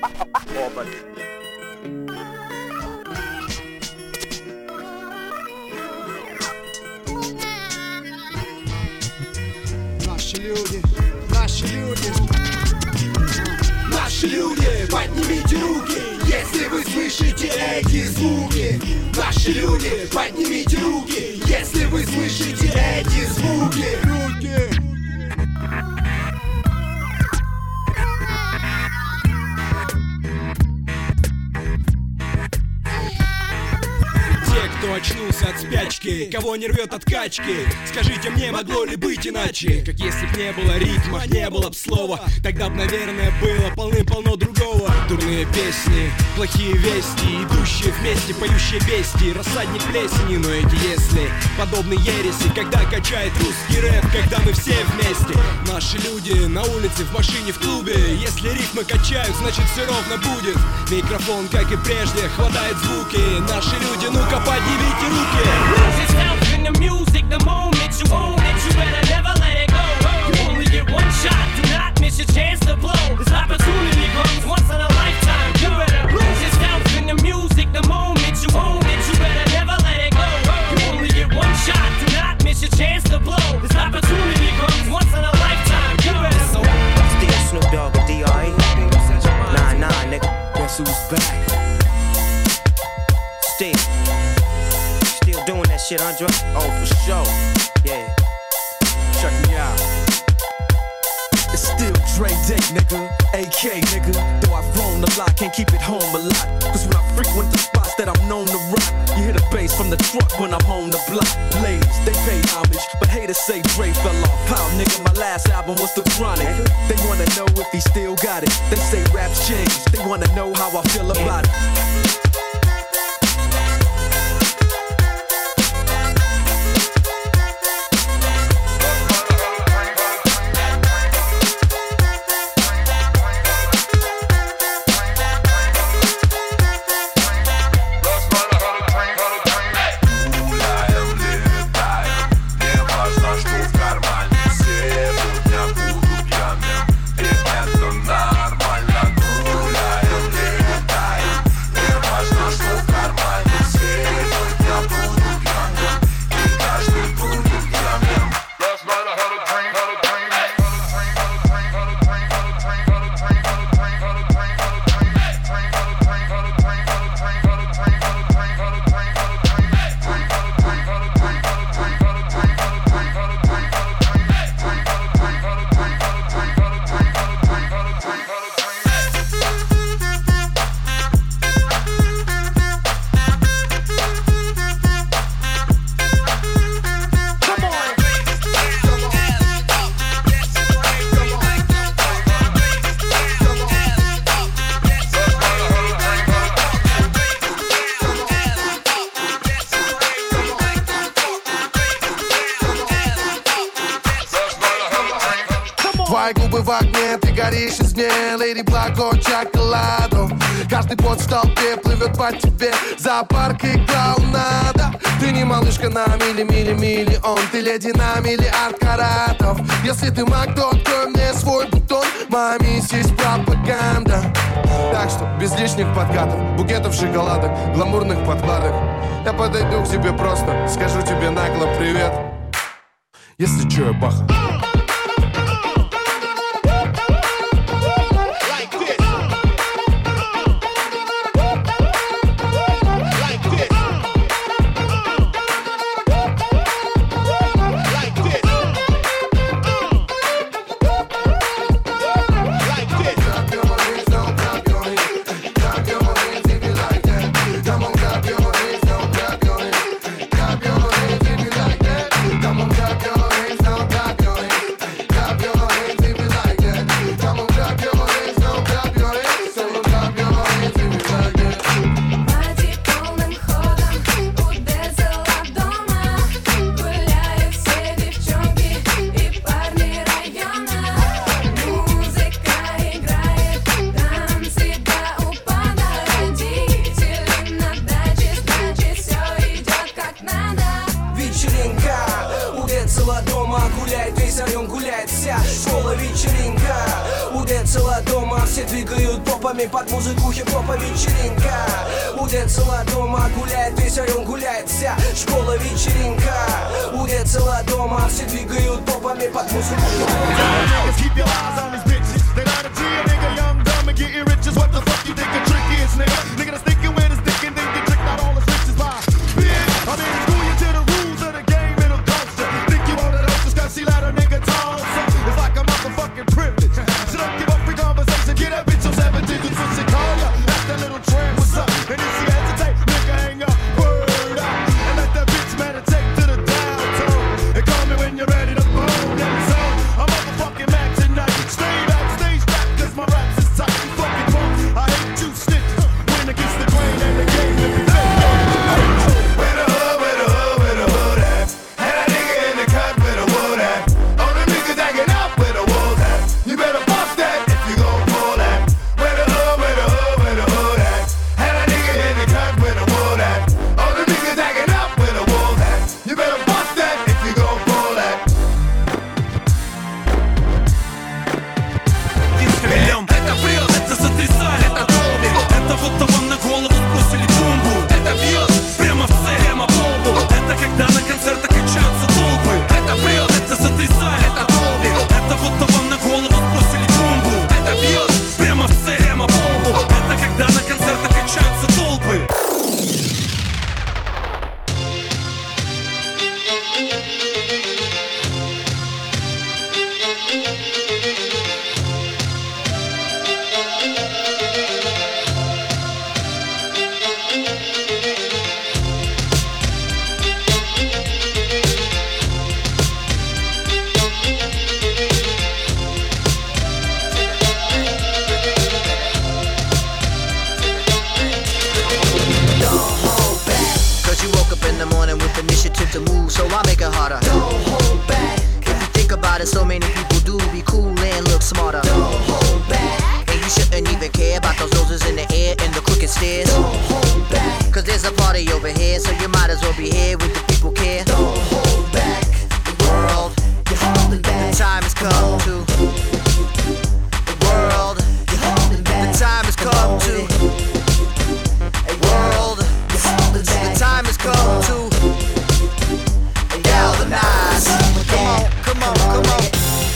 Наши люди, наши люди. Наши люди, поднимите руки, если вы слышите эти звуки. Наши люди, поднимите руки, если вы слышите эти звуки. Кто очнулся от спячки, кого не рвет от качки, скажите мне, могло ли быть иначе? Как если б не было ритма, не было б слова, тогда б, наверное, было полным-полно другого. Дурные песни, плохие вести, идущие вместе, поющие бести, рассадник плесени. Но эти если подобны ереси, когда качает русский рэп, когда мы все вместе. Наши люди на улице, в машине, в клубе, если ритмы качают, значит все ровно будет. Микрофон, как и прежде, хватает звуки. Наши люди, ну-ка поднимите руки. Lose yourself in the music, the moment you own it, you better never let it go. You only get one shot, do not miss your chance to blow. This opportunity comes once in a lifetime. You better lose yourself in the music, the moment you own it, you better never let it go. You only get one shot, do not miss your chance to blow. This opportunity comes once in a lifetime. You better. So, still Snoop Dogg with D.R.E. Nah, nigga. Guess who's back? Still doing that shit, Andre? Oh, for sure. Yeah. Check me out. It's still Dre Day, nigga, AK, nigga. Though I've grown a lot, can't keep it home a lot. Cause when I frequent the spots that I'm known to rock, you hear the bass from the truck when I'm on the block. Ladies, they pay homage, but haters say Dre fell off. How, nigga, my last album was The Chronic. They wanna know if he still got it. They say rap's changed, they wanna know how I feel about it. Твои губы в огне, ты горишь из мне, леди Благо Чоколадо. Каждый пот в толпе плывет по тебе, зоопарк и клоунада. Ты не малышка на миллион, ты леди на миллиард каратов. Если ты маг, то открой мне свой бутон, моя миссия есть пропаганда. Так что без лишних подкатов, букетов шоколадок, гламурных подкладок. Я подойду к тебе просто, скажу тебе нагло привет. Если чё, я баха. Дома гуляет, весь район гуляет, вся школа вечеринка. У Удецела дома, все двигают попами под музыку хип-хопа вечеринка. Удецела дома, гуляет весь район, гуляет вся школа вечеринка. Удецела дома, все двигают попами под музыку хип-хопа. Keep your eyes on these bitches. They got a G, a nigga young, dumb, and getting riches. What the fuck you think a trick is, nigga? Nigga that's thinking with his dick and think they tricked out all his riches by bitch. I mean, school you to the rules of the game, it'll cost you. Think you want it up just cause she let a nigga talk. It's like a motherfucking privilege. So don't give up free conversation. Get that bitch on 7 digits when she call ya. Ask that little tramp what's up. And if she hesitate, nigga hang up, word up. And let that bitch meditate to the downtown. And call me when you're ready to bone that zone. I'm motherfucking mad tonight. Stay backstage back cause my raps is tight. You fucking punk. I hate you snitches. Win against the grain and the game if you fake. Where the hood, where the hood, where the hood at? Had a nigga in the cut where the wood at? All the niggas acting up where the wolves at? You better bust that if you gon' pull that. Where the hood, where the hood, where the hood at? Had a nigga in the cut where the wood at? All the niggas acting up where the wolves at? You better bust that if you gon' pull that. Это бред, это сотрясали, это долби. Это вот того на голову сбросили бомбу. Это бьет прямо в прямо по лбу. Это когда на концертах качаются толпы. Это бред, это сотрясали, это долби. Это вот того на голову сбросили бомбу. Это бьет прямо в прямо по лбу. Это когда на концертах качаются толпы. Cause you woke up in the morning with initiative to move, so I make it harder. Don't hold back. If you think about it, so many people do be cool and look smarter. Don't hold back. And you shouldn't even care about those noses in the air and the crooked stairs. Don't hold back. Cause there's a party over here, so you might as well be here with the people care. Don't hold back. The world, you're holding back. The time has come to. The world, you're holding back. The time has come to. World, the time has come to galvanize. Come on, come on, come on.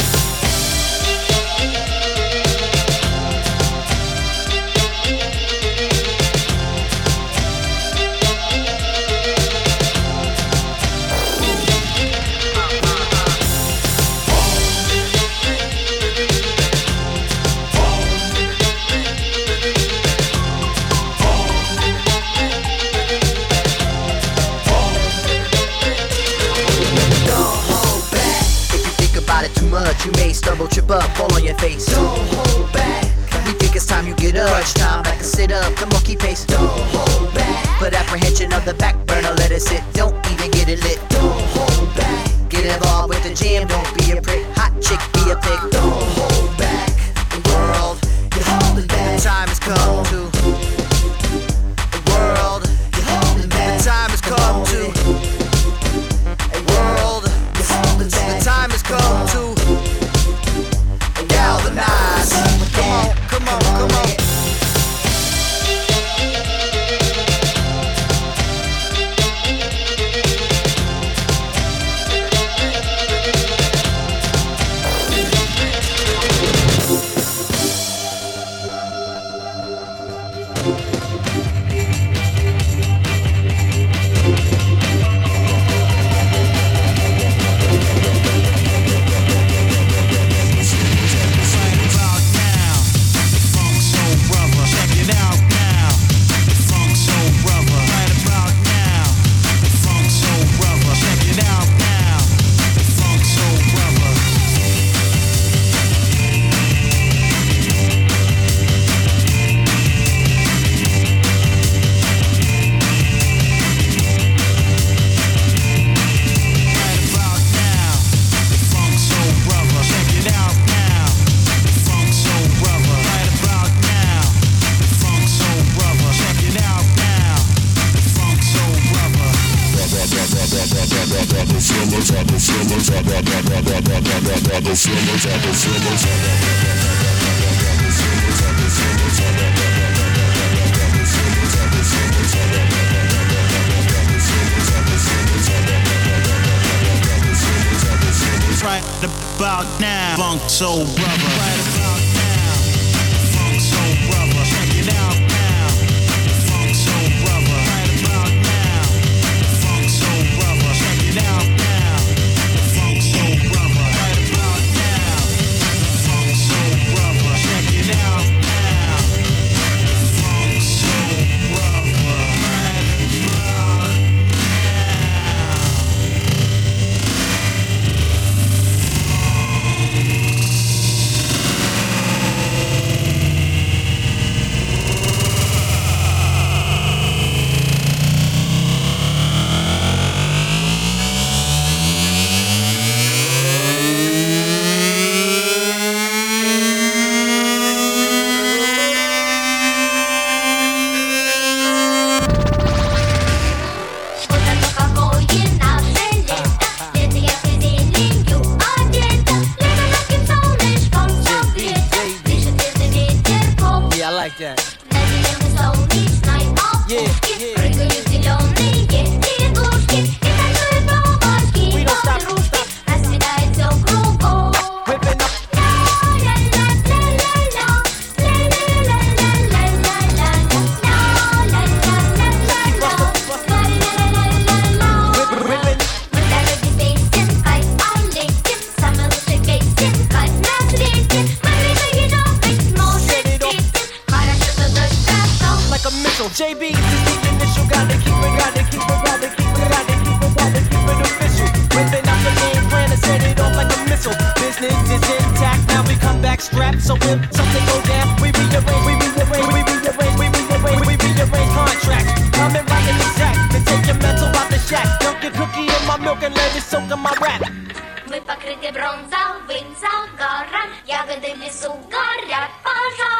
Too much, you may stumble, trip up, fall on your face. Don't hold back. We think it's time you get up. Crunch time, back and sit up, the monkey pace. Don't hold back. Put apprehension on the back burner, let it sit. Don't even get it lit. Don't hold back. Get involved with the jam, don't be a prick. Hot chick, be a pig. Don't hold back. The world, you're holding back. The time has come to. The world, you're holding back. The time has come to. A world. The time has come to galvanize. Come on, come on, come on. The Right about now, Funk Soul Brother. Right about now, Funk Soul Brother. Check it out now, Funk Soul Brother. Right about now, Funk Soul Brother. Check it out now, Funk Soul Brother. Right about now, Funk Soul Brother. Check it out now, Funk Soul Brother. Right about now. JB, this the initial, gotta keep it official. Whipping out the game plan and set it off like a missile. Business is intact, now we come back strapped. So when something go down, we rearrange contracts. Coming right in the sack, then take your mental out the shack. Dunk your cookie in my milk and let it soak in my rap. Мы покрыты бронзовым загаром, ягоды в лесу горят пожар.